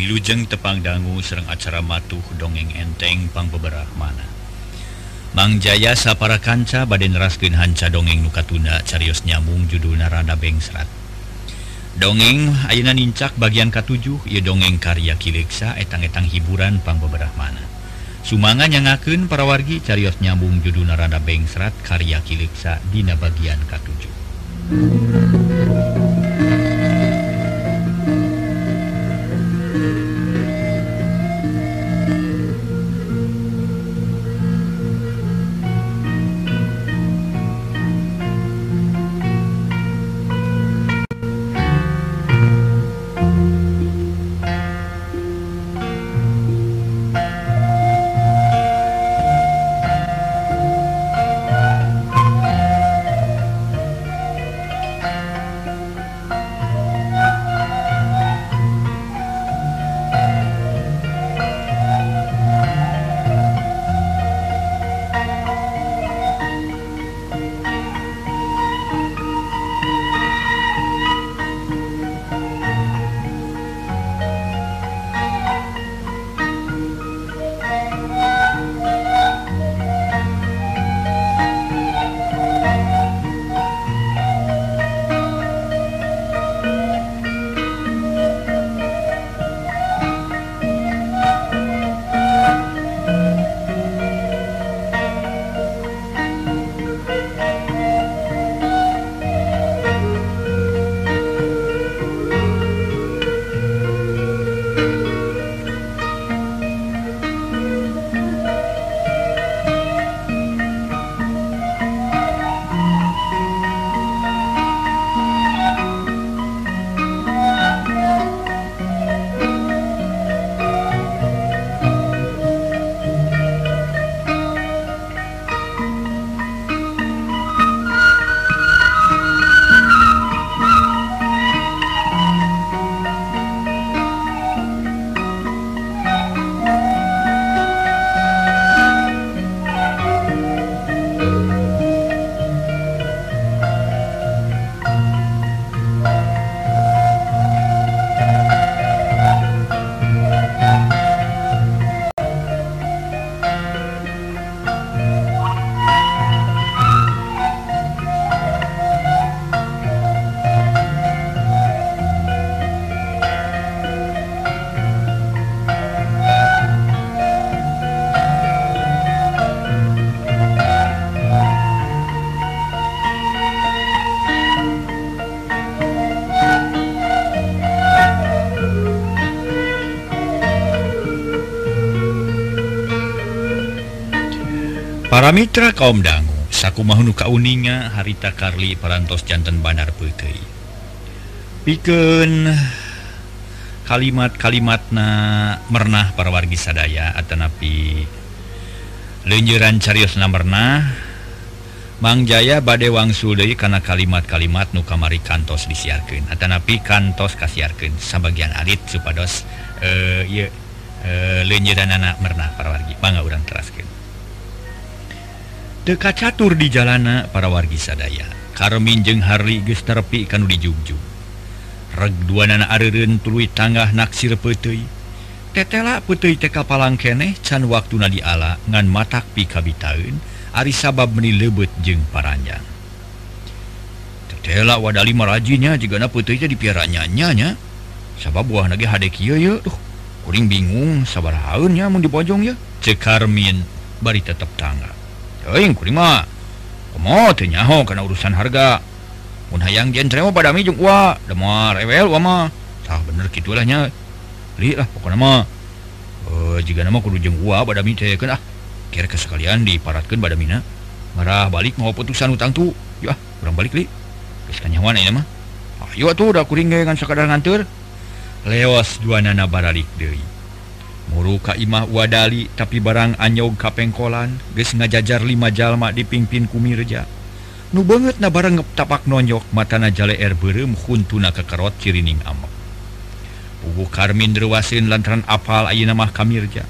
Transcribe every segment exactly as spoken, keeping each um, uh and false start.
Wilujeng tepang dangu sereng acara matuh dongeng enteng pang beberapa mana Mang Jaya sapara kanca bade neraskeun hanca dongeng nu katunda carios nyambung judulna Rada Bengsrat. Dongeng ayeuna nincak bagian katujuh ieu dongeng karya Kileksa etang-etang hiburan pang beberapa mana. Sumanga nyangakeun para wargi carios nyambung judulna Rada Bengsrat karya Kileksa dina bagian katujuh. Para mitra kaum dangu, sakumaha nu kauninga harita Karli parantos janten bandar peuteuy. Pikeun kalimat-kalimatna mernah para wargi sadaya atanapi leunjeuran cariosna mernah, Mang Jaya bade wangsul deui kana kalimat-kalimat nu kamari kantos disiarkeun atanapi kantos kasiarkeun sabagian alit supados eh ieu e, leunjeuranana mernah para wargi. Mangga urang teraskeun. Teu kacatur di jalana para wargi sadaya. Karmin jeung Harli geus nerepi kanu dijugjug. Reg duanana areureun tuluy tanggah naksir peuteuy. Tetela peuteuy teh kapalang keneh can waktuna diala ngan matak pi kabitaeun ari sabab meuni leubeut jeung paranjang. Tetela wadali marajinnya jigana peuteuy teh dipiara nya nya. Sabab buahna ge hade kieu ye. Duh, kuring bingung sabarahaeun nya mun dibojong ye. Ceuk Karmin bari tetep tangga. Teuing kuring mah komo teu nyaho kana urusan harga. Mun hayang jentre mah padami jeung ua, da moal rewel ua mah. Tah bener kitu lah nya. Li lah pokona mah. Eh jigana mah kudu jeung ua badami teh keun ah. Kira sekalian diparatkeun badamina. Marah balik mau putusan utang tu. Yo ah, urang balik li. Geus kanyawan ayeuna mah. Ayo atuh da kuring ge ngan sakadar nganteur. Leos duanana baralik deui. Muru ka imah wadali tapi barang anyog kapengkolan geus ngajajar lima jalma dipingpin ku Mirja. Nu beungeutna bareng tapak nonyok matana jaleer beureum huntuna kekerot cirining amek. Puguh Karmin reuwaseun lantaran apal ayeuna mah ka Mirja.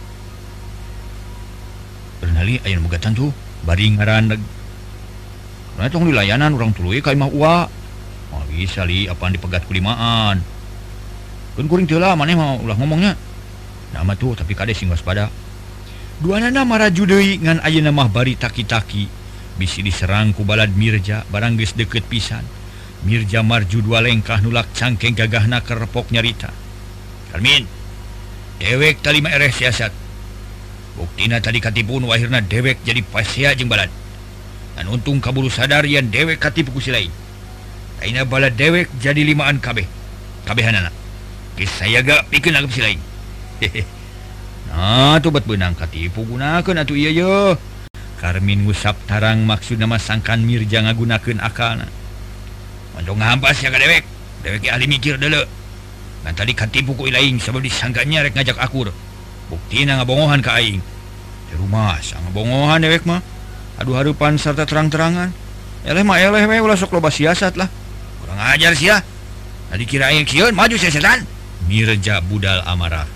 Bernali ayeuna boga tantu bari ngaraneg. Karena tong dilayanan urang tuluy ka imah ua. Moal bisa li apaan dipegat kulimaan. kuring telah maneh mau ulah ngomongnya nama tuh tapi kade sing waspada duanana maraju deui ngan ayeuna mah bari taki-taki bisi diserang ku balad Mirja barang geus deukeut pisan. Mirja marju dua lengkah nulak cangkeng gagahna kerepok nyarita. Karmin, dewek tali mah ereh siasat. Buktina tadi katipun wahirna dewek jadi pasea jeung balad. Dan untung kaburu sadar yen dewek katipu ku si lain. Aina balad dewek jadi limaan kabeh. Kabehanana. Geus sayaga pikeun anggap si lain. Nah, tuh bet benang katipu gunakeun atuh ieu yeuh. Karmin ngusap tarang maksudna mah sangkan Mirja ngagunakeun akalna. Mantong ngahampas ya ka dewek. Dewek ahli mikir deuleu. Ngan tadi katipu ku ilaing sabab disangkanya rek ngajak akur. Buktina ngabongohan ka aing. Di rumah sang ngabongohan dewek mah. Aduh harupan serta terang-terangan. Eleh mah eleh we ulah sok loba siasat lah. Kurang ajar sia. Tadi kira aing kieun maju sia setan. Mirja budal amarahna.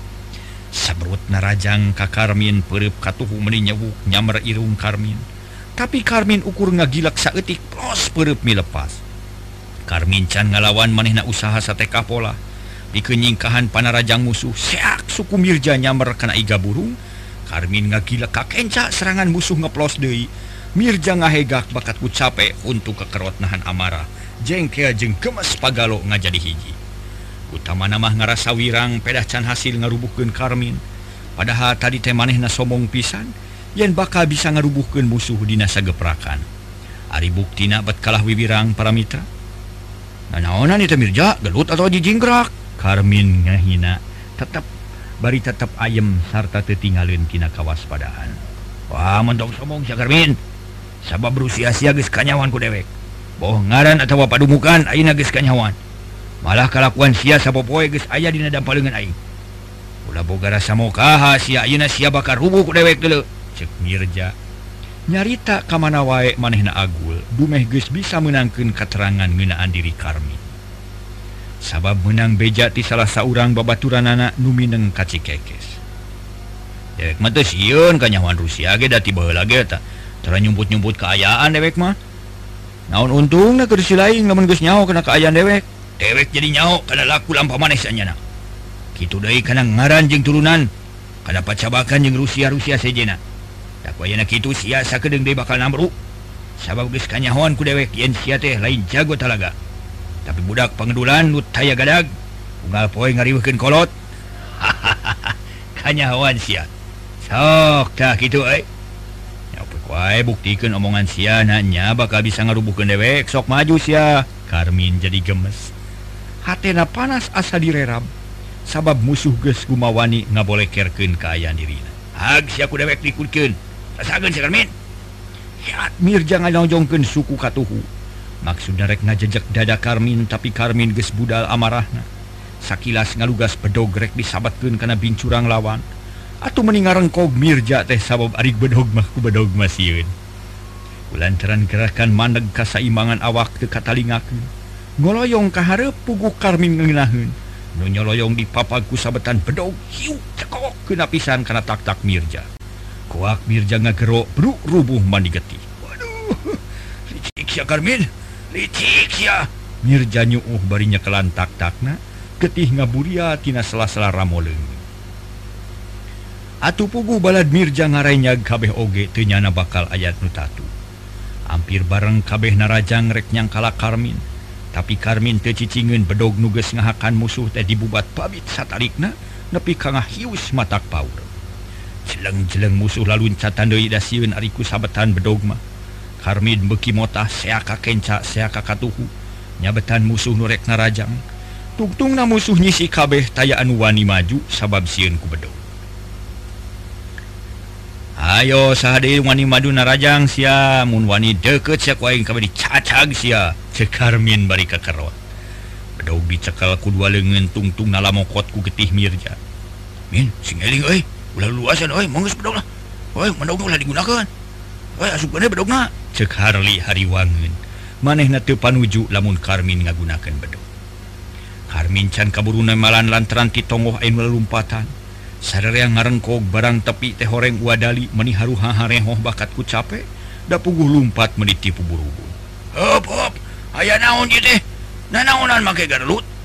Sabrut narajang ka Karmin pereup katuhu meuni nyewuk nyamer irung Karmin. Tapi Karmin ukur ngagilak saeutik plos pereup milepas. Karmin can ngalawan manehna usaha satekah pola. Pikeun nyingkahan panarajang musuh seak suku Mirja nyamer kana iga burung. Karmin ngagilak ka kenca serangan musuh ngeplos deui. Mirja ngahegak bakat ku capek untuk kekerot nahan amarah. Jengkel jeung gemes pagalo ngajadi hiji. Utamana mah ngarasa wirang pedah can hasil ngarubuhkeun Karmin. Padahal tadi teh manehna sombong pisan yen bakal bisa ngarubuhkeun musuh dina sageprakan. Ari buktina bet kalah wiwirang para mitra. Nah naonan itu Mirja gelut atau jijingkrak. Karmin ngahina tetap bari tetap ayem sarta teu tingaleuan tina kawaspadaan. Wah mendong sombong sia Karmin. Sabab berusia-sia geus kanyawan ku dewek. Boh ngaran atawa padumukan ayeuna geus kanyawan. Malah kalakuan sia sapopoe geus aya dina dampaleungan aing. Ulah boga rasa mokaha sia ayeuna sia bakal rubuh ku dewek deuleu. Cek Mirja. Nyarita ka mana wae manehna agul, dumeh geus bisa meunangkeun katerangan ngeunaan diri Karmin. Sabab menang beja ti salah saurang babaturanana nu mineng ka Cikekes. Dewek mah teu sieun ka nyawan Rusia ge da ti baheula ge eta. Tara nyumput-nyumput kaayaan dewek mah. Naon untungna keur si laing lamun geus nyaho kana kaayaan dewek. Dewek jadi nyaho kana laku lampah maneh sanyana. Kitu deui kana ngaran jeung turunan, kana pacabakan jeung Rusia-Rusia sejena. Tak wayana kitu sia sakedeung deui bakal namru. Sabab geus kanyahoan ku dewek yen sia teh lain jago talaga. Tapi budak pangedulan nu taya gadag, unggal poe ngariweuhkeun kolot. Kanyahoan sia. Sok tah kitu euy. Nyaupeuh wae buktikeun omongan sia na nya bakal bisa ngarubuhkeun dewek, sok maju sia. Karmin jadi gemes. Hatena panas asa direram. Sabab musuh geus gumawani ngabolekerkeun kaayaan dirina. Hag sia ku dewek dikulkeun. Rasakeun si Karmin. Ya, Mirja nganojongkeun suku katuhu. Maksudna rek ngajejek dada Karmin tapi Karmin geus budal amarahna. Sakilas ngalugas bedog rek disabatkeun kana bincurang lawan. Atuh meuni ngarengkog Mirja teh sabab ari bedog mah ku bedog mah sieun. Kulantaran gerakan mandeg kasaimbangan awak teu katalingakeun. Ngoloyong ka hareup puguh Karmin ngeunaheun. Nu nyoloyong dipapag ku sabetan bedog hiu cekok keuna pisan kana tak-tak Mirja. Koak Mirja ngagero bruk rubuh mandi getih. Waduh, licik sia Karmin, licik sia. Mirja nyuuh bari nyekelan tak-takna, getih ngaburia tina sela-sela ramoleung. Atuh puguh balad Mirja ngarenyag kabeh oge teu nyana bakal ayat nu tatu. Hampir bareng kabeh narajang rek nyangkala Karmin. Tapi Karmin teu cicingeun bedog nu geus ngahakan musuh teh dibubat pabit satarikna nepi ka ngahius matak paur. Jeleng-jeleng musuh laluncatan deui da sieun ari ku sabetan bedog mah. Karmin beuki motah seaka kenca seaka katuhu nyabetan musuh nu rek narajang. Tungtungna musuh nyisi kabeh taya anu wani maju sabab sieun ku bedog. Ayo sahade wani madu narajang sia mun wani deukeut sia ku aing kabeh dicacag sia. Cek Karmin bari kakerot. Bedog dicekel ku dua leungeun tungtungna lamokot ku getih Mirja. Min sing eling euy, ulah luasan euy, manggeus bedog lah. Euy, bedogna ulah digunakeun. Euy asupkeun bedogna. Cek Harli hariwangeun. Manehna teu panuju lamun Karmin ngagunakeun bedog. Karmin can kaburu nemalan lantaran ti tongoh anu lalumpatan. Sarerea ngarengkog barang tepi teh horeng wadali meuni haruha harehoh bakat ku capek da puguh lumpat meuni tipu buru-buru. Hop hop, aya naon ieu teh? Nanaonan make garlut?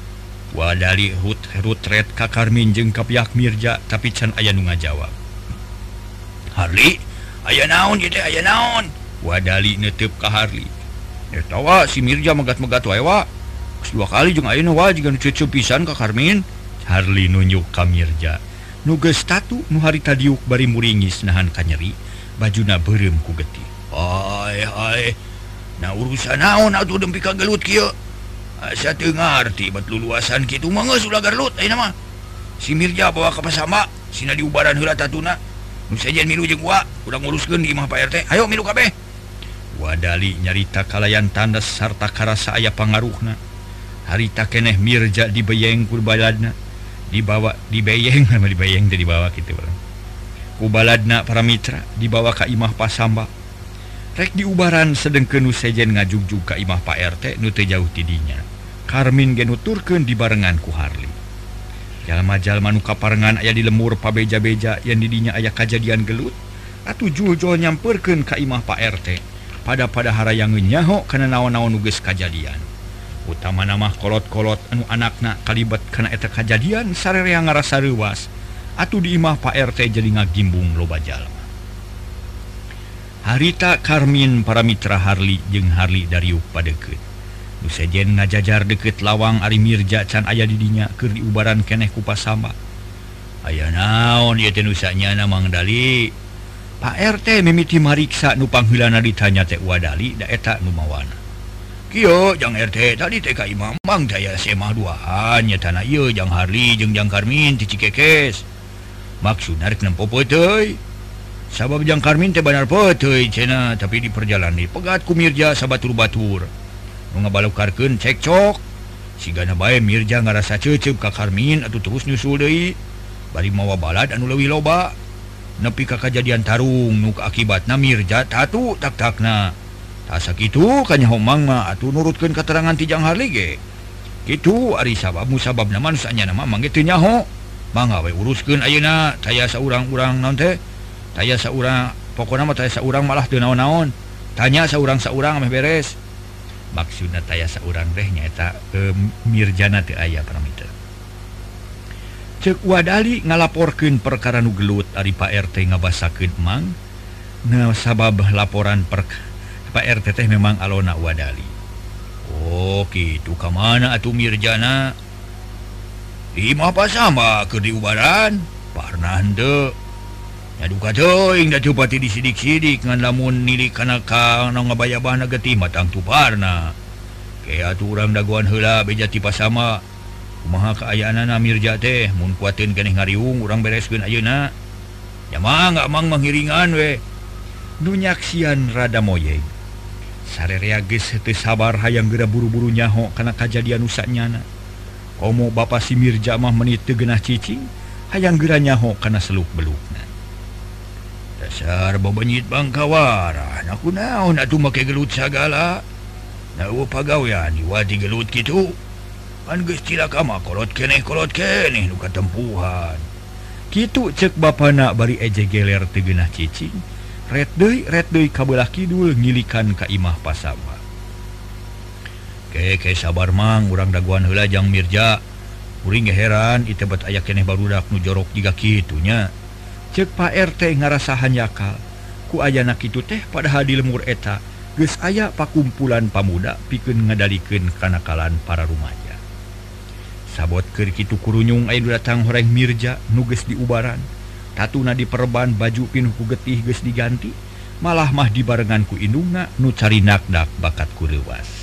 Wadali rutret ka Karmin jeung ka pihak Mirja tapi can aya nu ngajawab. Harli, aya naon ieu teh aya naon? Wadali netep ka Harli. Eta wa si Mirja megat-megat wae wa. Geus dua kali jeung ayeuna wa jiga nu ceuceup pisan ka Karmin. Harli nunjuk ka Mirja. Nu geus tatu nu harita diuk bari muringis nahan ka nyeri, bajuna beureum ku getih. Hai hai. Na urusan naon atuh dempi ka gelut kieu? Asa teu ngarti bet luluasan kitu mah geus ulah garlut ayeuna mah. Si Mirja bawa ka pasama, sina diubaran heula tatuna. Nu sejen milu jeung gua, urang nguruskeun di imah Pak R T. Hayo milu kabeh. Wadali nyarita kalayan tandas sarta karasa aya pangaruhna. Harita keneh Mirja dibeyeng ku baladna. Dibawa dibeyeng sama dibeyeng teh dibawa kitu urang. Ku baladna para mitra dibawa ka imah Pasamba. Rek diubaran sedengkeun nu sejen ngajugjug ka imah Pak R T nu teu jauh ti dinya. Karmin ge nuturkeun dibarengan ku Harli. Jalma-jalma nu kaparengan aya di lemur pabeja-beja yang di dinya aya kajadian gelut, atuh jul-jul nyampeurkeun ka imah Pak R T. Pada-pada harayangeun nyaho kana naon-naon nu geus kajadian. Utamana mah kolot-kolot anu anakna kalibat kana eta kajadian sarerea ngarasa reuwas. Atuh di imah Pak R T jadi ngagimbung loba jalma. Harita Karmin para mitra Harli jeung Harli dariuk padeukeut. Nu sejen ngajajar deukeut lawang ari Mirja can aya di dinya keur diubaran keneh ku Pasamba. Aya naon ieu teh nu sanyana Mang Dali? Pak R T mimiti mariksa nu pangheulana ditanya teh Wadali da eta nu mawana. Kieu jang R T tadi teh ka imah Mang daya semah duaan nya tanah ieu jang Harli jeung jang Karmin ti Cikekes. Maksudna rek nempo teuy. Sabab jang Karmin teh benar peteuy cenah tapi di perjalanan pegat ku Mirja sabatur-batur. Nu ngabalukarkeun cekcok. Sigana bae Mirja ngarasa ceuceup ka Karmin atuh terus nyusul deui. Bari mawa balad anu leuwih loba. Nepi ka kajadian tarung nu akibatna Mirja tatu tak-takna. Tah sakitu kanyaho Mang mah atuh nurutkeun katerangan ti jang Harli ge. Kitu ari sabab musababna mah sanyana mah mangge teu nyaho. Mangga we uruskeun ayeuna taya saurang-urang naon teh? Taya saurang pokona mah taya saurang malah teu naon-naon. Tanya saurang-saurang meh beres. Maksudna taya saurang teh nyaeta e, Mirjana teu aya paramita. Ceuk Wadali ngalaporkeun perkara nu gelut ari Pak R T ngabasakeun Mang. Nah sabab laporan per Pak R T teh memang alona Wadali. Oh kitu ka mana atuh Mirjana? Di imah Pasamba keur diubaran? Parna henteu. Duka teuing da teu pati disidik-sidik ngan lamun nilik kana ka anu ngabayabahna getih matang tuparna. Ke atuh urang dagoan heula beja ti Pasamba. Kumaha kaayaanna Mirja teh mun kuateun keneh ngariung urang bereskeun ayeuna. Ya mangga Mang manghiringan we. Nu nyaksian rada moyeng. Sarerea geus teu sabar hayang geura buru-buru nyaho kana kajadian nu sanyana. Komo bapa si Mirja mah menit teu geunah cicing hayang geura nyaho kana seluk-belukna. Dasar babanyit Bangkawara, na kunaon atuh make gelut sagala. Na eueuh pagawean diwati gelut kitu. Kan geus cilaka mah kolot keneh kolot keneh nu katempuhan. Kitu ceuk bapana bari eje geler teu geunah cicing. Ret deui ret deui ka beulah kidul ngilikan ka imah Pasamba. Ke ke sabar Mang, urang dagoan heula jang Mirja. Uring ge heran ieu teh bet aya keneh barudak nu jorok jiga kitu nya. Ceuk Pak R T ngarasahan yakal ku ayana kitu teh padahal di lemur eta geus aya pakumpulan pamuda pikeun ngadalikeun kanakalan para rumaja. Sabot keur kitu kurunyung aya datang horeng Mirja nu geus diubaran. Tatuna diperban baju pinuh ku getih geus diganti, malah mah dibarengan ku indungna nu cari nakdak bakat ku leuwas.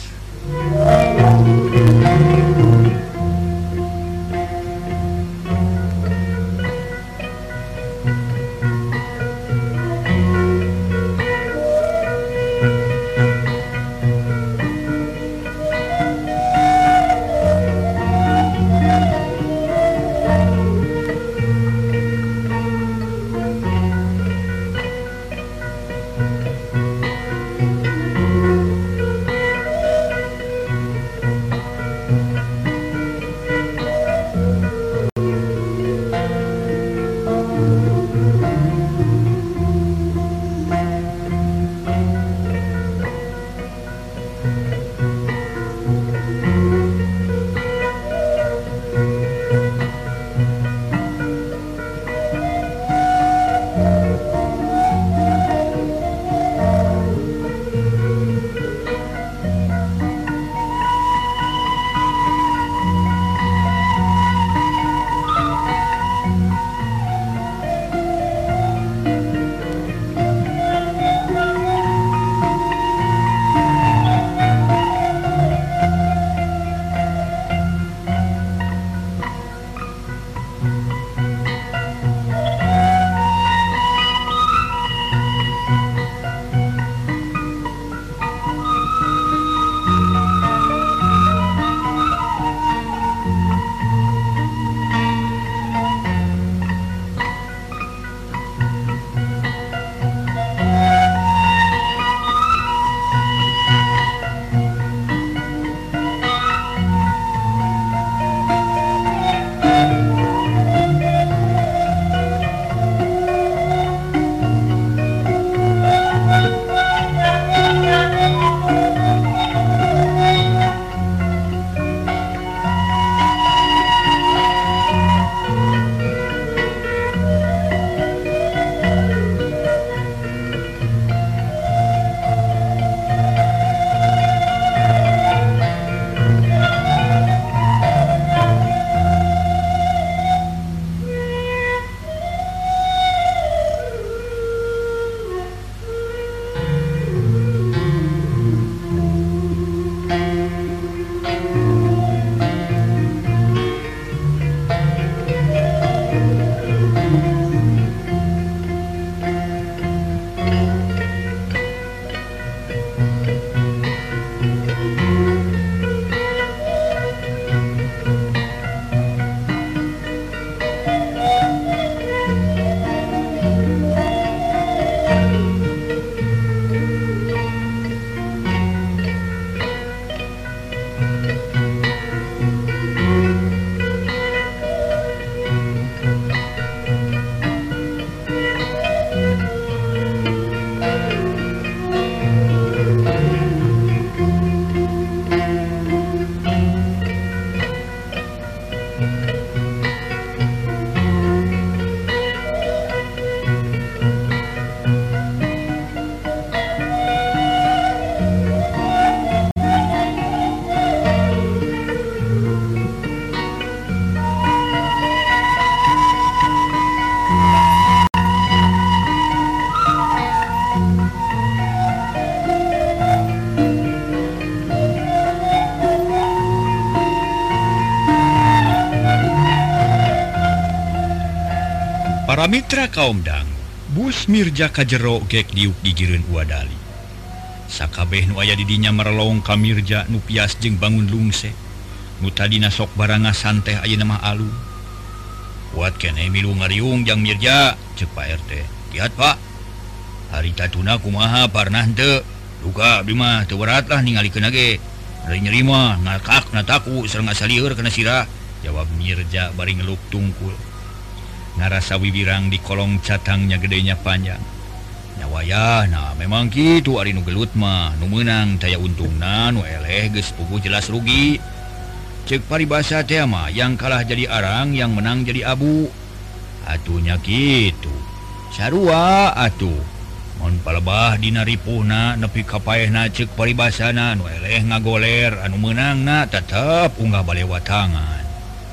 Para mitra kaum dangu, bus Mirja kajero gek diuk digireun Uadali. Sakabeh nu aya di dinya merelong ka Mirja nu pias jeung bangun lungse. Nu tadina sok baranga santeh ayeuna mah alung. Kuat keneh milu ngariung jang Mirja, ceuk Pak R T. Lihat Pak, harita tuna kumaha parnah henteu. Duka abdi mah teu berat lah ningalikeun ge. Ari nyeri mah ngakak nataku sareng asalieur kana sirah. Jawab Mirja bari ngeluk tungkul. Ngarasa wibirang di kolong catangnya gedenya panjang. Nyawaya, nah memang gitu ari nu gelut mah, nu meunang taya untungna, nu eleh geus puguh jelas rugi. Ceuk paribasa teh mah, yang kalah jadi arang, yang menang jadi abu. Atunya kitu. Sarua atuh. Mun palebah dina ripuhna nepi ka paehna ceuk paribasana, nu eleh ngagoler, anu meunangna tetep unggah balewat tangan.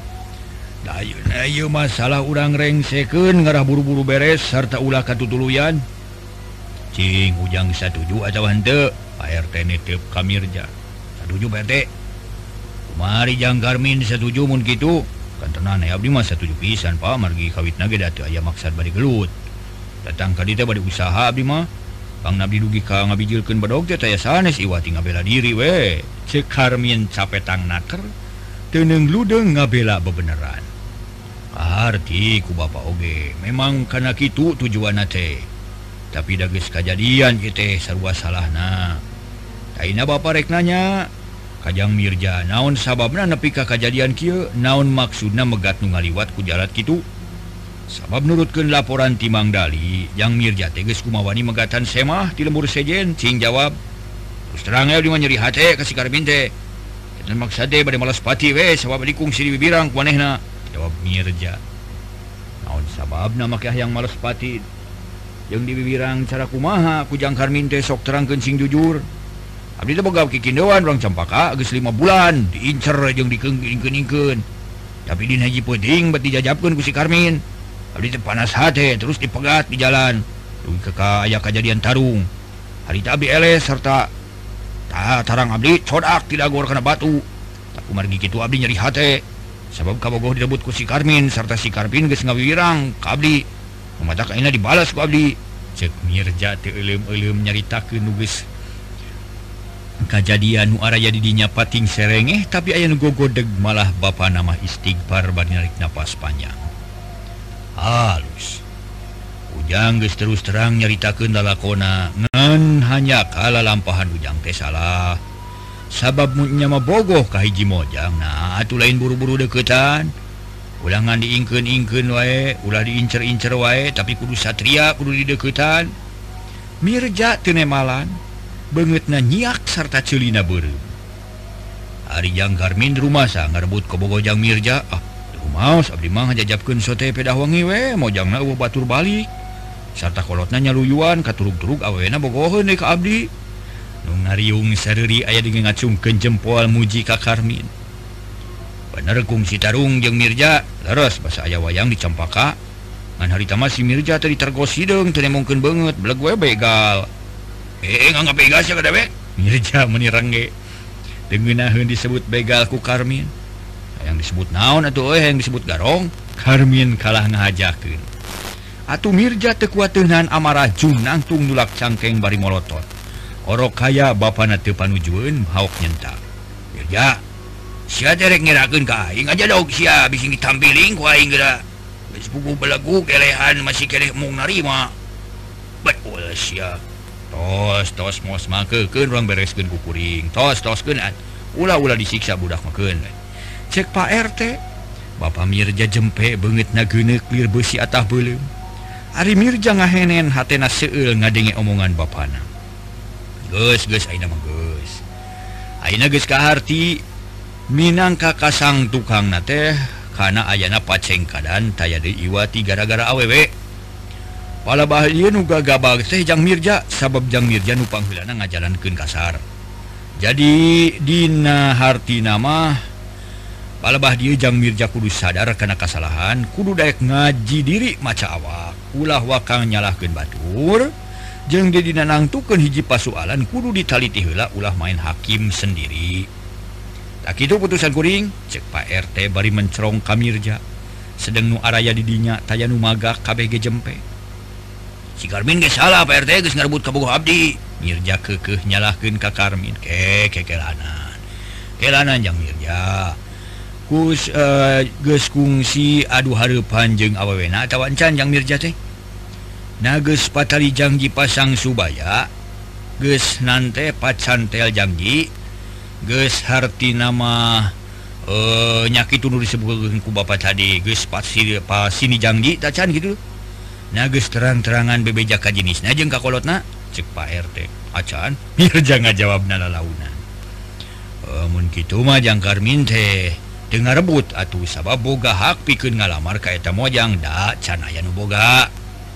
Ayeuna ieu masalah urang rengsekeun ngarah buru-buru beres sarta ulah katutuluyan. Cing ujang satuju atawa henteu? Pak R T niteup ka Mirja. Satuju Pak R T. Kumari jang Karmin satuju mun kitu. Kan tenan aya abdi mah satuju pisan Pak, margi kawitna ge da teu aya maksad bade gelut. Datang ka dieu teh bade usaha abdi mah. Pang abdi dugi ka ngabijilkeun badog teh taya sanes iwati ngabela diri we. Ceuk Karmin capetang naker teuneng ludeung ngabela bebeneran. Arti ku Bapak oge memang kana kitu tujuanna teh. Tapi da geus kajadian ieu teh sarua salahna. Ayeuna Bapak rek nanya ka Jang Mirja naon sababna nepi ka kajadian kieu, naon maksudna megat nu ngaliwat ku jalat kitu. Sabab nurutkeun laporan ti Mang Dali, Jang Mirja teh geus kumawani megatan semah ti lembur sejen. Cing jawab, terus terang aya di mah nyeri hate ka si Karmin teh. Ketan maksud teh bade malas pati we sabab dikungsi di bibirang ku manehna. Jawab Mirja. Naon sababna make hayang males pati jeung di bibirang cara kumaha ku Jang Karmin teh sok terangkeun sing jujur. Abdi teh boga kikindeuan urang Campaka geus lima bulan diincer jeung dikeungkeun-keungkeun. Tapi dina hiji peuting bet dijajabkeun ku si Karmin. Abdi teh panas hate terus dipegat di jalan. Dugi ka aya kajadian tarung. Harita abdi eles sarta tah tarang abdi codak ti dagor kana batu. Tak kumargi kitu abdi nyeri hate. Sabab kabogoh direbut ku si Karmin sarta si Karmin geus ngawirang ka abdi. Mamatak ayeuna dibalas ku abdi. Ceuk Mirja teu euleum-euleum nyaritakeun nu geus kajadian nu araya di dinya pating serengeh, tapi aya nu gogodeg malah bapana mah istighfar bari narik napas panjang. Halus. Ujang geus terus terang nyaritakeun lalakona ngan hanya kalalampahan Ujang teh salah. Sabab nya mah bogoh ka hiji mojang, nah atuh lain buru-buru deukeutan. Ulah ngan diingkeun-ingkeun wae, ulah diincer-incer wae, tapi kudu satria, kudu didekeutan. Mirja teu nemalan, beungeutna nyiak sarta ceulina beureum. Ari Jang Karmin rumasa ngarebut ka bogoh Jang Mirja, ah rumaos abdi mah ngajajabkeun sote pedah wangi we, mojangna eueuh batur balik. Sarta kolotna nyaluyuan katurug-turug aweena bogoheun deui ka abdi. Nu ngariung sareuri aya di ngacungkeun jempol muji ka Karmin. Bener kungsi tarung jeung Mirja leres basa aya wayang di Campaka. Ngan harita mah si Mirja teh ditergos hideung teu nemongkeun beungeut beleg we begal. Eh ngangga begal sia kada we? Mirja meuni rengge. Teu ngeunaheun disebut begal ku Karmin. Yang disebut naon atuh euy yang disebut garong? Karmin kalah ngahajakeun. Atuh Mirja teu kuat teu nahan amarah jung nangtung nulak cangkeng bari molotot. Orok kaya bapana teu panujueun haok nyentak. Mirja, sia teh rek ngerakeun ka aing aja dog sia bising ditampiling ku aing geura. Geus puguh belegu kelehan masih keleh mung narima. Beul sia. Tos tos mos makeukeun urang bereskeun ku kuring. Tos toskeun ulah-ulah disiksa budak makeun. Cek Pak R T, Bapak Mirja jempe beungeutna geuneuk lir beusi atah beuleum. Ari Mirja ngahenen hatena seueul ngadenge omongan bapana. Geus geus ayeuna mah geus. Ayeuna geus kaharti minangka kasang tukangna teh kana ayana pacengkadan taya deui iwati gara-gara awewe. Palebah ieu nu gagabag teh Jang Mirja sabab Jang Mirja nu pangheulana ngajalankeun kasar. Jadi dina hartina mah palebah dieu Jang Mirja kudu sadar kana kasalahan, kudu daek ngaji diri maca awak, ulah wakang nyalahkeun batur. Jeung di dina nangtukeun hiji pasualan kudu ditaliti heula ulah main hakim sendiri. Tak kitu putusan kuring, cek Pak R T bari mencerong ka Mirja. sedang nu araya didinya taya nu magak K B G jempe si Karmin ge salah Pak R T geus ngarebut ka bogoh abdi. Mirja keukeuh nyalahkeun ka Karmin ke kekelanan kelanan jang Mirja kus uh, geus kungsi adu hareupan jeung awewena atawa encan jang Mirja teh na geus patali janji pasang subaya geus nante pacantel janji geus harti nama uh, nyakit nu disebutkeun ku bapa tadi geus pasti pasini janji tak can gitu na geus terang-terangan bebeja ka jenisna jeung ka kolotna cek Pak R T acan Mirja ngajawabna lalaunan uh, mun kitu mah jang Karmin teh teu ngarebut atuh sabab boga hak pikeun ngalamar ka eta mojang da can aya nu boga.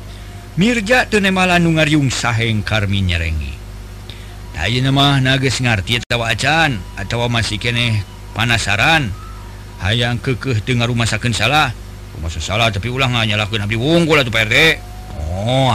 Mirja teu nemalan nu ngariung saheng Karmin nyerengi. Da ayeuna mah na geus ngarti atawa acan atawa masih keneh panasaran hayang keukeuh teu ngarumasakeun salah. Masa salah tapi ulah nganyalahkeun abdi wungkul atuh Pak R T. Oh,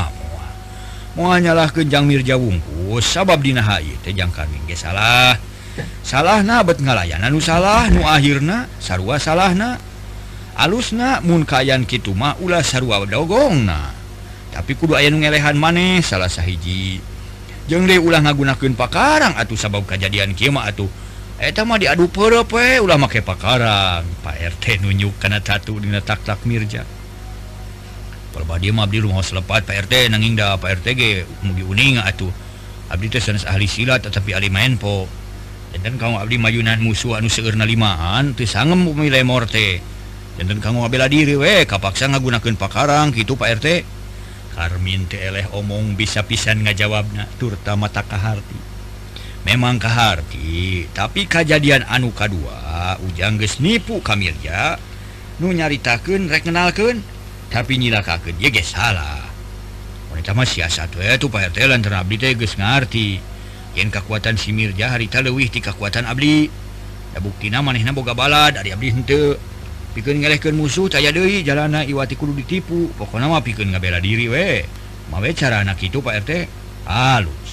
moal nyalahkeun jang Mirja wungkul sabab dina ieu teh jang Karmin ge salah. Salahna bet ngalayanan nu salah nu akhirna sarua salahna. Alusna mun kayan kitu mah ulah sarua dogongna. Tapi kudu aya nu ngelehan maneh salah sahiji. Jeung deui ulah ngagunakeun pakarang atuh sabab kajadian kieu mah atuh. Eta mah diadu peureup we ulah make pakarang. Pak R T nunjuk kana tatu dina tak-tak Mirja. Palbadi mah abdi rumah selepat Pak R T nanging da Pak R T ge mugi uning atuh. Abdi teh sanes ahli silat tetapi ahli main po. Dan kamu abdi mayunan musuh anu seueurna limaan teu sangem umi lemor teh. Dan kamu bela diri we kapaksa ngagunakeun pakarang kitu Pak R T. Karmin teh eleh omong bisa pisan ngajawabna turta mata kaharti. Memang kaharti, tapi kajadian anu kadua ujang geus nipu ka Mirja nu nyaritakeun rek ngenalkeun tapi nyilakakeun ye ge salah. Wanita mah siasat we tuh Pak R T lantaran abdi teh geus ngarti yen kakuatan si Mirja harita leuwih ti kakuatan abdi. Da buktina manehna boga bala dari abdi henteu. Pikeun ngelehkeun musuh taya deui jalanna iwati kudu ditipu. Pokona mah pikeun ngabela diri we. Mawe carana kitu Pak R T. Alus.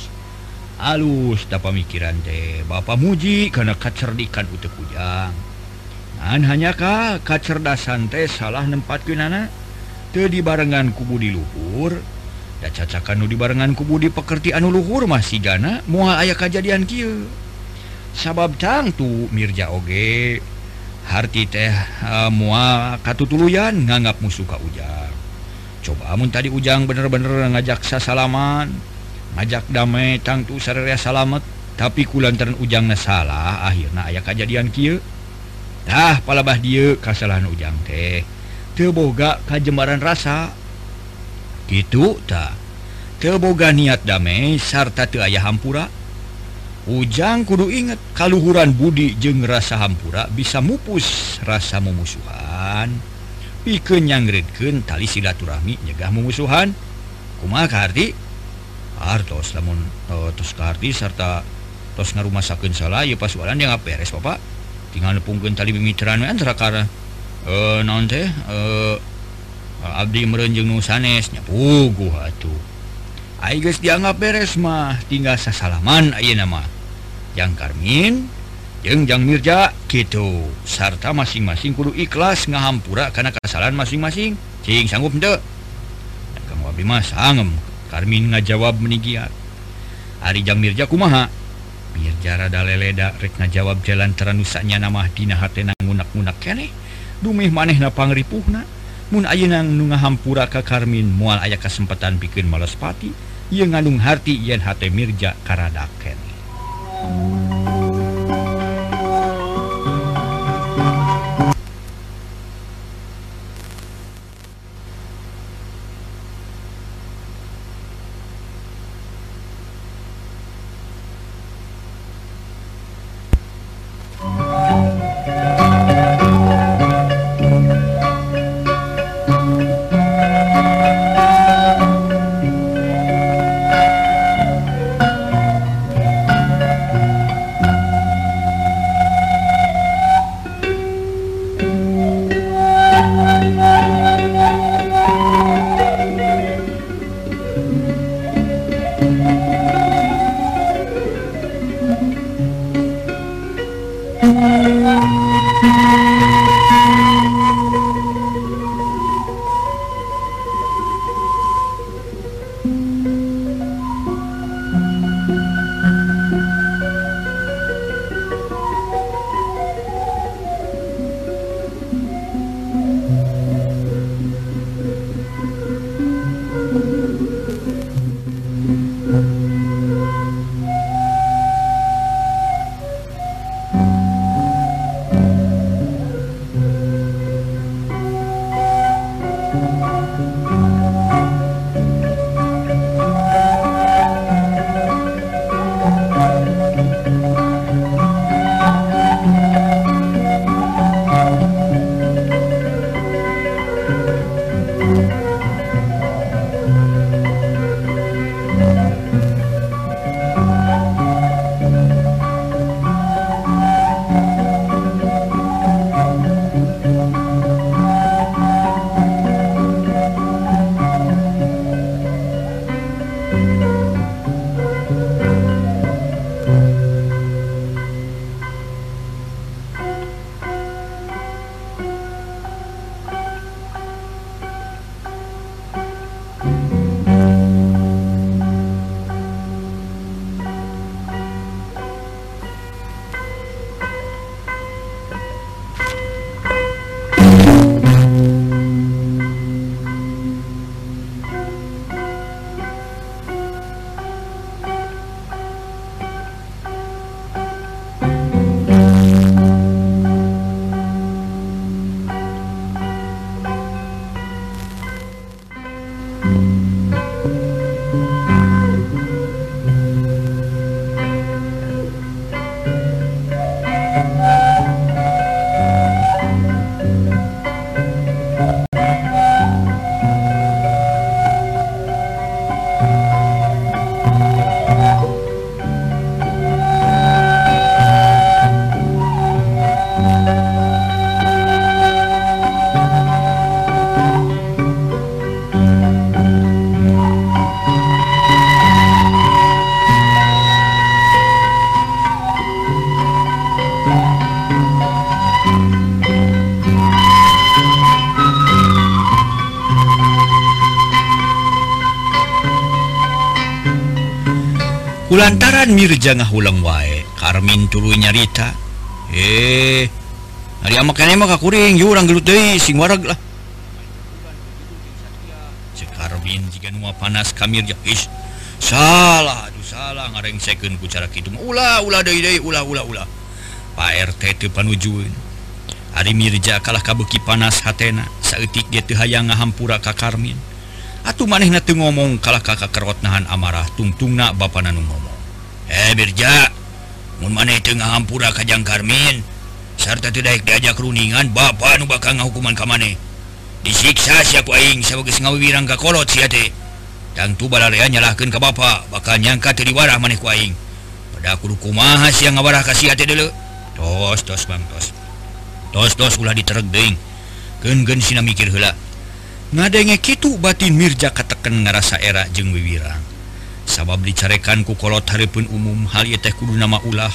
Alus da pamikiran teh. Bapa muji kana kacerdikan utek ujang. Ngan hanya ka kacerdasan teh salah nempatkeunana teu dibarengan ku budi luhur. Da cacakan nu dibarengan ku budi pekerti anu luhur masih gana moal aya kajadian kieu. Sabab tangtu Mirja oge harti teh uh, moal katutuluyan nganggap musuh ka ujang. Coba mun tadi ujang bener-bener ngajak sasalaman, ngajak damai tangtu sarerea salamet, tapi kulantaran ujangna salah akhirna aya kajadian kieu. Tah palabah dieu kasalahan ujang teh teu boga kajembaran rasa. Gitu tak teu boga niat damai sarta teu aya hampura. Ujang kudu inget kaluhuran budi jeung rasa hampura bisa mupus rasa mumusuhan pikeun nyangredkeun tali silaturahmi nyegah mumusuhan. Kumaha kaharti? Artos lamun uh, tos kaharti sarta tos ngarumasakeun salah ieu pasualan yang beres Bapak. Tinggal nepungkeun tali mimiteran we antara kara uh, naon teh uh, abdi meureun jeung nu sanes nya puguh atuh. Ai geus dianggap beres mah tinggal sasalaman ayeuna mah. Jang Karmin jeung Jang Mirja kitu. Sarta masing-masing kudu ikhlas ngahampura kana kasalahan masing-masing. Cing sanggup henteu? Dan kamu abdi mah sangem. Karmin ngajawab menigiat. Ari Jang Mirja kumaha? Mirja rada leleda rek ngajawab jalan teranusanya namah dina hatena ngunak-ngunak keneh. Dumeh manehna pangripuhna. Mun ayeuna nu ngahampura ka Karmin moal aya kasempatan pikeun males pati ieu ngandung harti yen hate Mirja karada keneh. Kulantaran Mirja ngahulang wae, Karmin tuluy nyarita. Eh, hari amak kene mah kakuring, yu urang gelut deui sing wareg lah. Cek Karmin jiga nu panas ka Mirja. Is, salah, aduh salah ngarengsekeun ku cara kitu mah. Ulah, ulah deui deui, ulah ulah ulah. Pak R T teu panujueun. Ari Mirja kalah kabeuki panas hatena, saeutik dia teu hayang ngahampura ka Karmin. Atuh manehna teu ngomong kalah kakak kerot nahan amarah tungtungna bapana nu ngomong. Eh Mirja, mun maneh teu ngahampura ka Jang Karmin sarta teu daek diajak runingan, bapa nu bakal ngahukuman ka maneh. Disiksa sia ku aing sabegeus ngawirang ka kolot sia teh. Tangtu balarea nyalahkeun ka bapa, bakal nyangka teu diwarah maneh ku aing. Pada kudu kumaha sia ngawarah ka sia teh deuleu. Tos tos Bang tos. Tos tos ulah ditereg deing. Keun-keun sina mikir heula. Ngadenge kitu batin Mirja kateken ngarasa era jeung wiwirang. Sabab dicarekan ku kolot hareupeun umum hal ieu teh kudu nama ulah.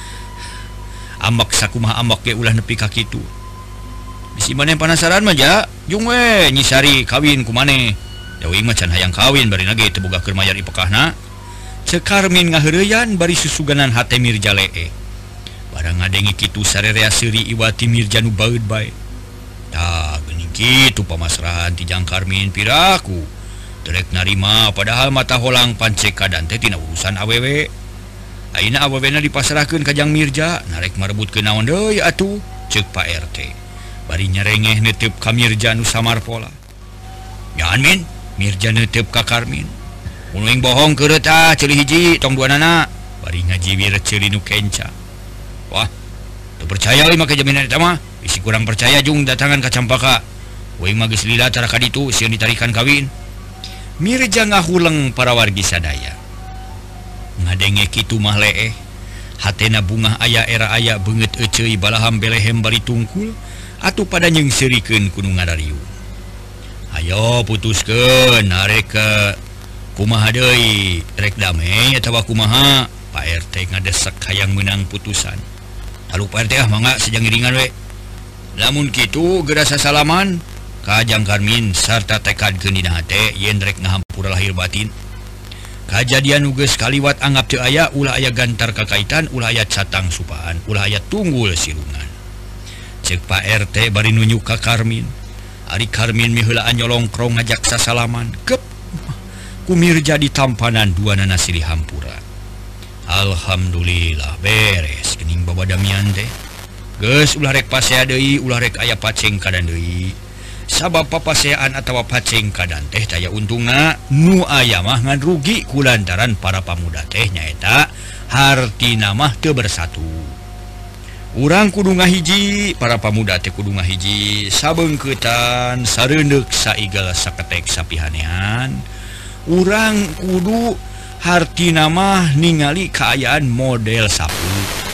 Ambak sakumaha ambak ge ulah nepi ka kitu. Bisi maneh penasaran mah ja, jung we nyisari kawin ku maneh. Deui mah can hayang kawin barina ge teu boga keur mayar ipekahna. Ceuk Karmin ngaheureuyan bari susuganan hate Mirja lee. Barang ngadenge kitu sarerea seuri iwati Mirja nu baeud bae. Tah geuning kitu pamasrahan ti Jang Karmin piraku terek narima padahal mata holang pancek kadan teh tina urusan awewe. Ayeuna awewena dipasrahkeun ka Jang Mirja narek marebutkeun naon deui atuh ceuk Pak R T. Bari nyarengeh neuteup ka Mirja nu samar pola. Nyaan Min, Mirja neuteup ka Karmin. Mun bohong keureu tah ceuli hiji tong duanana. Bari ngajiwir ceuli nu kenca. Wah, teu percaya euy make jaminan eta mah. Isi kurang percaya jung datangan ka Campaka. Weuing mah geus lila tara ka ditu sieun ditarikan kawin. Mirja ngahuleng para wargi sadaya. Ngadenge kitu mah leeh. Hatena bungah aya era aya beungeut euceuy balaham belehem bari tungkul atuh pada nyeungseurikeun ku nu ngadariu. Ayo putuskeun arek ke kumaha deui, rek damai atawa kumaha? Pak R T ngadesek hayang meunang putusan. Halu Pak R T ah mangga sejang iringan we. Lamun kitu gerasa salaman ka Jang Karmin sarta tekadkeun dina hate yen rek ngahampura lahir batin. Kajadian nu geus kaliwat anggap teu aya, ulah aya gantar kakaitan, ulah aya catang supaan, ulah aya tunggul silungan. Ceuk Pak R T bari nunjuk ka Karmin. Ari Karmin miheulaan nyolongkrong ngajak sasalaman. Kep ku Mirja ditampanan duanana silih hampura. Alhamdulillah beres geuning babadamian teh. Geus ulah rek pasea deui, ulah rek aya paceng kadan deui. sabab papasean atau pacing kadang teh daya untungna nu aya mah ngan rugi kulantaran para pamuda teh nyaeta hartina mah teu bersatu. Urang kudu ngahiji, para pamuda teh kudu ngahiji sabeungkeutan sareundeuk saigal saketek sapihanean. Urang kudu hartina mah ningali kaayaan model sapu.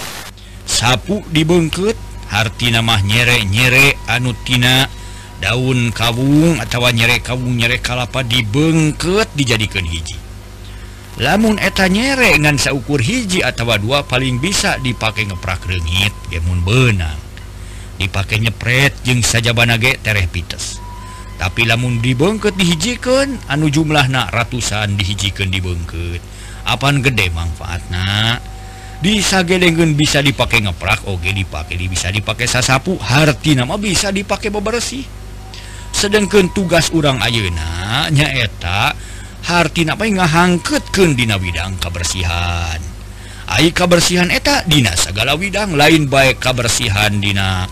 Sapu dibeungkeut hartina mah nyere-nyere anu tina daun kawung atawa nyere kawung nyere kalapa dibeungkeut dijadikeun hiji. Lamun eta nyere ngan saukur hiji atawa dua paling bisa dipake ngeprak reungit ge mun beunang. Dipake nyepret jeung sajabana ge tereh pites. Tapi lamun dibeungkeut dihijikeun anu jumlahna ratusan dihijikeun dibeungkeut. Apan gede manfaatna. Disagedengkeun bisa dipake ngeprak oge dipake bisa dipake sasapu hartina mah bisa dipake bebersih. Sedengkeun tugas urang ayeuna nyaeta hartina mah ngahangkeutkeun dina bidang kabersihan. Ai kabersihan eta dina sagala widang lain bae kabersihan dina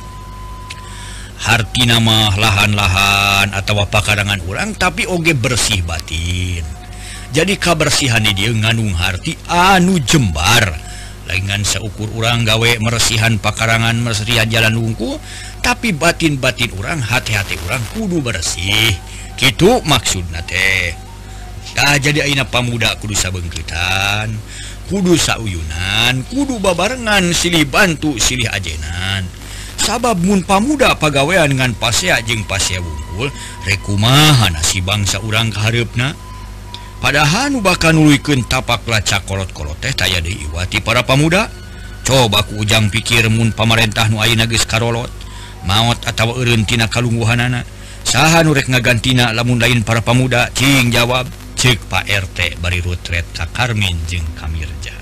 hartina mah lahan-lahan atawa pakarangan urang tapi oge bersih batin. Jadi kabersihan di dieu ngandung harti anu jembar. Laingan seukur urang gawe meresihan pakarangan meresihan jalan wungku tapi batin-batin urang hati-hati urang kudu bersih kitu maksudna teh. Tah jadi ayeuna pamuda kudu sabeungkeutan kudu sauyunan kudu babarengan silih bantu silih ajenan sabab mun pamuda pagawean ngan pasea jeung pasea wungkul rek kumaha si bangsa urang kahareupna. Padahal nu bakal nuluykeun tapak lacak kolot-kolot teh taya deui wati para pamuda. Coba ku ujang pikir mun pamarentah nu ayeuna geus karolot, maot atawa eureun tina kalungguhanana. Saha nu rek ngagantina lamun lain para pamuda? Cing jawab, ceuk Pak R T bari rutret ka Karmin jeung Kamirja.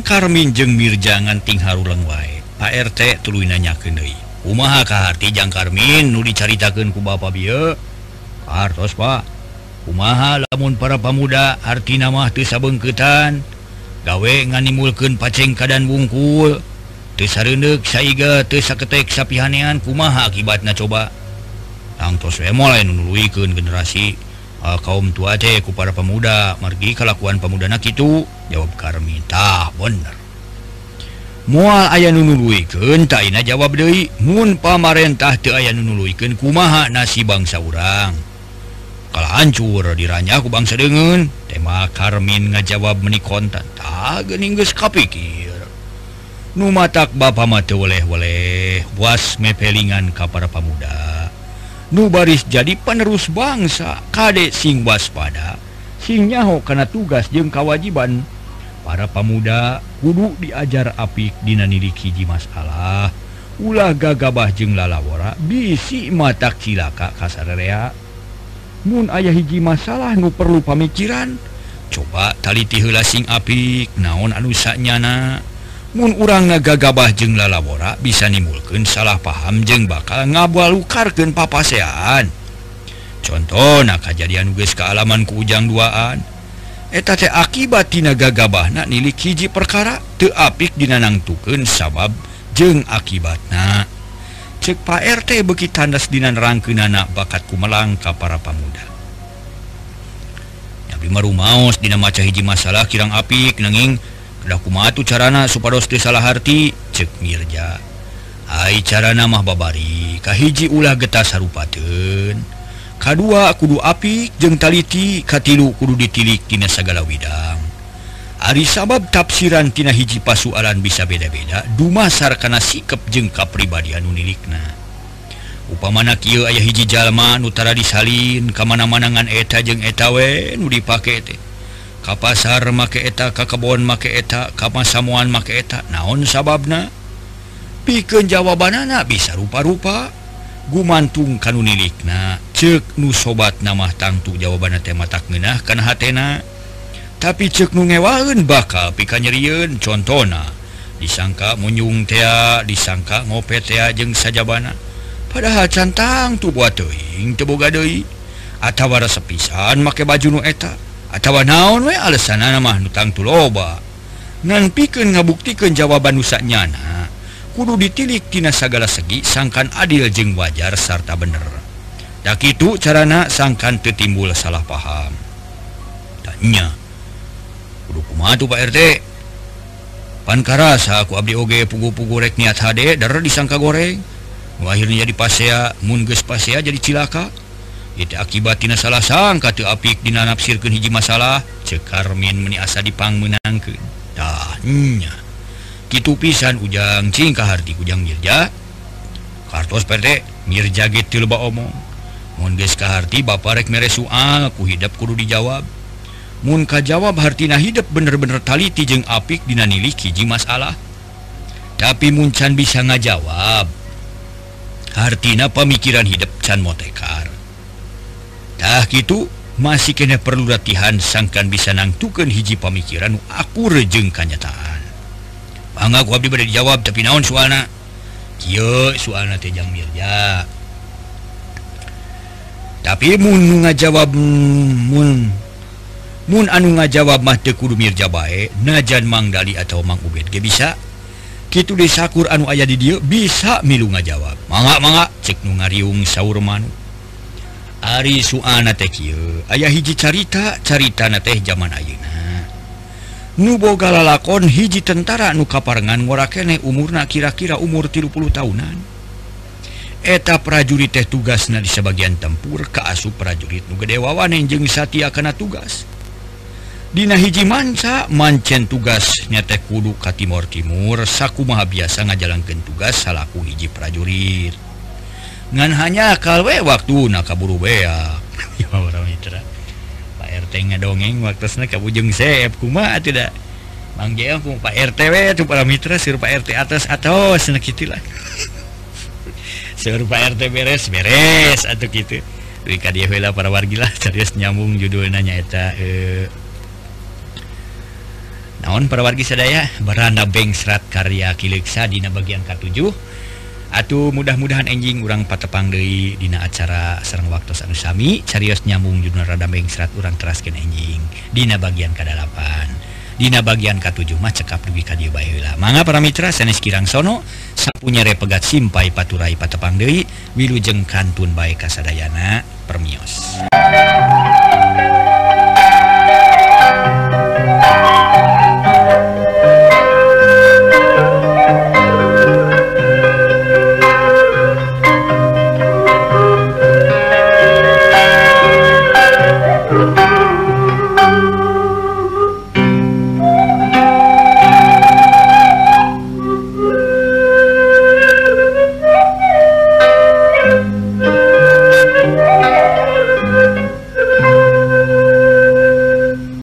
Karmin jeung Mirjangan ting haruleng wae. Pak R T tuluy nanyakeun deui. Kumaha kaharti Jang Karmin nu dicaritakeun ku Bapak bieu? Hartos Pak. Kumaha lamun para pamuda artina mah teu sabeungkeutan, gawe nganimulkeun paceng kadan wungkul, teu sareundeuk saiga teu saketek sapihanean, kumaha akibatna coba? Tangtos we mulai nuluykeun generasi uh, kaum tua teh ku para pemuda margi kalakuan pemudana kitu. Jawab Karmin, tah bener. Moal aya nu nuluykeun tah ayeuna jawab deui, mun pamarentah teu aya nu nuluykeun kumaha nasib bangsa urang? Kalau hancur diranya ku bangsa deungeun. Tema Karmin ngajawab meuni kontan, tah geuning geus kapikir. Nu matak bapa mah teu weleh-weleh buas mepelingan ka para pemuda. Nu baris jadi penerus bangsa, kade sing waspada, sing nyaho kana tugas jeung kewajiban. Para pemuda kudu diajar apik dina nilik hiji masalah, ulah gagabah jeung lalawara bisi matak cilaka kasararea. Mun aya hiji masalah nu perlu pamikiran, coba taliti heula sing apik naon anu sanyana. Mun urang ngagagabah jeung lalawara bisa nimulkeun salah paham jeung bakal ngabalukarkeun papasean. Contona kajadian geus kaalaman ku ujang duaan. Eta teh akibat tina gagabahna nilik hiji perkara teu apik dina nangtukeun sabab jeung akibatna. Cek Pak R T beuki tandas dina nerangkeunana bakat kumelang ka para pamuda. Tapi marumaos dina maca hiji masalah kirang apik nanging da kumaha tu carana supados teu salah harti, cek Mirja. Ai carana mah babari, kahiji ulah getah sarupateun, kadua kudu apik jeung taliti, katilu kudu ditilik tina sagala widang. Ari sabab tafsiran tina hiji pasualan bisa beda-beda dumasar kana sikep jeung kapribadian nu nilikna. Upamana kieu aya hiji jalma nu tara disalin ka mana-mana ngan eta jeung eta we nu dipake teh. Ka pasar make eta, ka kebon make eta, ka masamuan make eta, naon sababna? Pikeun jawabanana bisa rupa-rupa, gumantung kanu nilikna. Ceuk nu sobatna mah tangtu jawabanna teh matak ngeunah kana hatena. Tapi ceuk nu ngewaeun bakal pikanyerieun. Contona, disangka munyung teh, disangka ngopet teh jeung sajabana. Padahal cantang tu buat teuing teu boga deui. Atawa resep pisan make baju nu eta. Atawa naon we alesanana mah nu tangtu loba. Ngan pikeun ngabuktikeun jawaban nu sanyana, kudu ditilik tina sagala segi sangkan adil jeung wajar sarta bener. Da kitu carana sangkan teu timbul salah paham. Tanya, kudu kumaha tuh Pak R T? Pan karasa ku abdi oge pugu-pugu rek niat hade dar disangka goreng. Nu akhirnya jadi pasea, mun geus pasea jadi cilaka. Itu akibat tina salah sangka teu apik dina nafsirkeun hiji masalah, cek Karmin meuni asa dipangmeunangkeun. Tah nya. Kitu pisan ujang cing kaharti ujang Mirja. Kartos P R T, Mirja ge teu loba omong. Mun geus kaharti bapa rek mere soal ku hidep kudu dijawab. Mun kajawab hartina hidep bener-bener taliti jeung apik dina nilik hiji masalah. Tapi mun can bisa ngajawab, hartina pamikiran hidep can motekar. Tah kitu masih kena perlu latihan sangkan bisa nangtukeun hiji pamikiran nu akur jeung kanyataan. Bangga ku abdi bade dijawab tapi naon soalna? Kieu soalna teh Jang Mirja. Tapi mun ngajawab mun mun anu ngajawab mah teu kudu Mirja bae, najan Mang Dali atau Mang Ubed ge bisa. Kitu deui sakur anu aya di dieu bisa milu ngajawab. Mangga-mangga cek nu ngariung saur manu. Ari soalna teh kieu, aya hiji carita, caritana teh zaman ayeuna. Nu boga lalakon hiji tentara nu kaparengan ngorakene umurna kira-kira umur tilu puluh tahunan. Eta prajurit teh tugasna di sebagian tempur kaasup prajurit nu gede wawanen jeung satia kana tugas. Dina hiji manca mancen tugasnya teh kudu ka timur-timur sakumaha biasa ngajalankeun tugas salaku hiji prajurit. Ngan hanya kalwe waktu na kaburu beak. Ya orang mitra Pak R T ngadongeng waktosna kabujeng seep kumaha teu da Mang Jeel ku Pak R T we tu para mitra seueur Pak R T atas atos cenah kitu lah. Seueur Pak R T beres beres atuh kitu. Deui ka dieu heula para wargi lah carios nyambung judulna nyaeta eh naon para wargi sadaya beranda beng serat karya Kileksa dina bagian ketujuh atuh mudah-mudahan enjing urang patepang deui dina acara sareng waktos anu sami carios nyambung judulna rada beng serat urang teraskeun enjing dina bagian kadalapan dina bagian ketujuh mah cekap dugi ka dieu bae heula mangga para mitra sanes kirang sono sapunya repegat simpai paturai patepang deui wilujeng kantun bae kasadayana permios.